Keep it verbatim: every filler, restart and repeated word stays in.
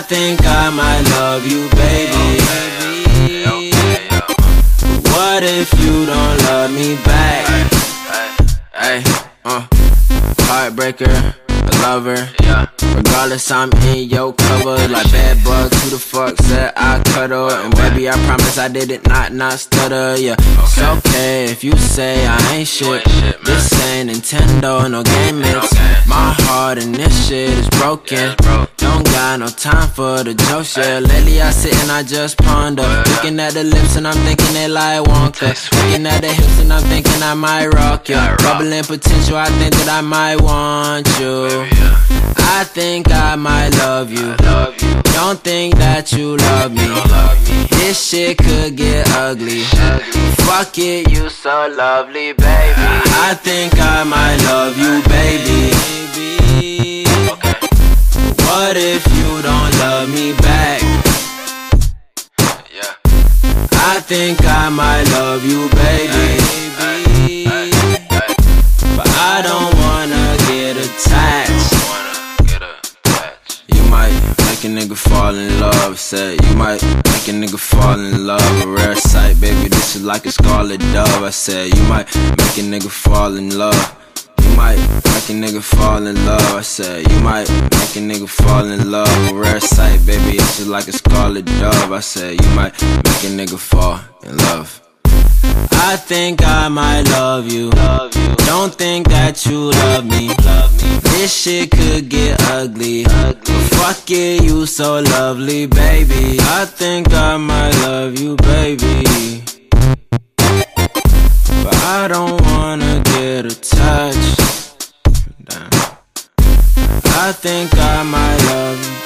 think I might love you, baby. What if you don't love me back? Hey, uh, heartbreaker, a lover. Regardless, I'm in your cover. Like bad bugs, who the fuck said I cuddle? And baby, I promise I did it not, not stutter, yeah. It's okay if you say I ain't shit. This ain't Nintendo, no game mix. My heart and this shit is broken. Don't got no time for the jokes, yeah. Lately I sit and I just ponder. Looking at the lips and I'm thinking they like Wonka. Looking at the hips and I'm thinking I might rock you. Bubbling potential, I think that I might want you. I think I might love you. Don't think that you love me. This shit could get ugly. Fuck it, you so lovely, baby. I think I might love you, baby. What if you don't love me back? I think I might love you, baby. But I don't wanna get attached. You might make a nigga fall in love, said you might make a nigga fall in love. A rare sight, baby, this is like a scarlet dove. I said you might make a nigga fall in love. You might make a nigga fall in love. I said you might make a nigga fall in love. A rare sight, baby, it's just like a scarlet dove. I said you might make a nigga fall in love. I think I might love you. Don't think that you love me. This shit could get ugly. Fuck it, you so lovely, baby. I think I might love you, baby. But I don't wanna get attached. Damn. I think I might love you.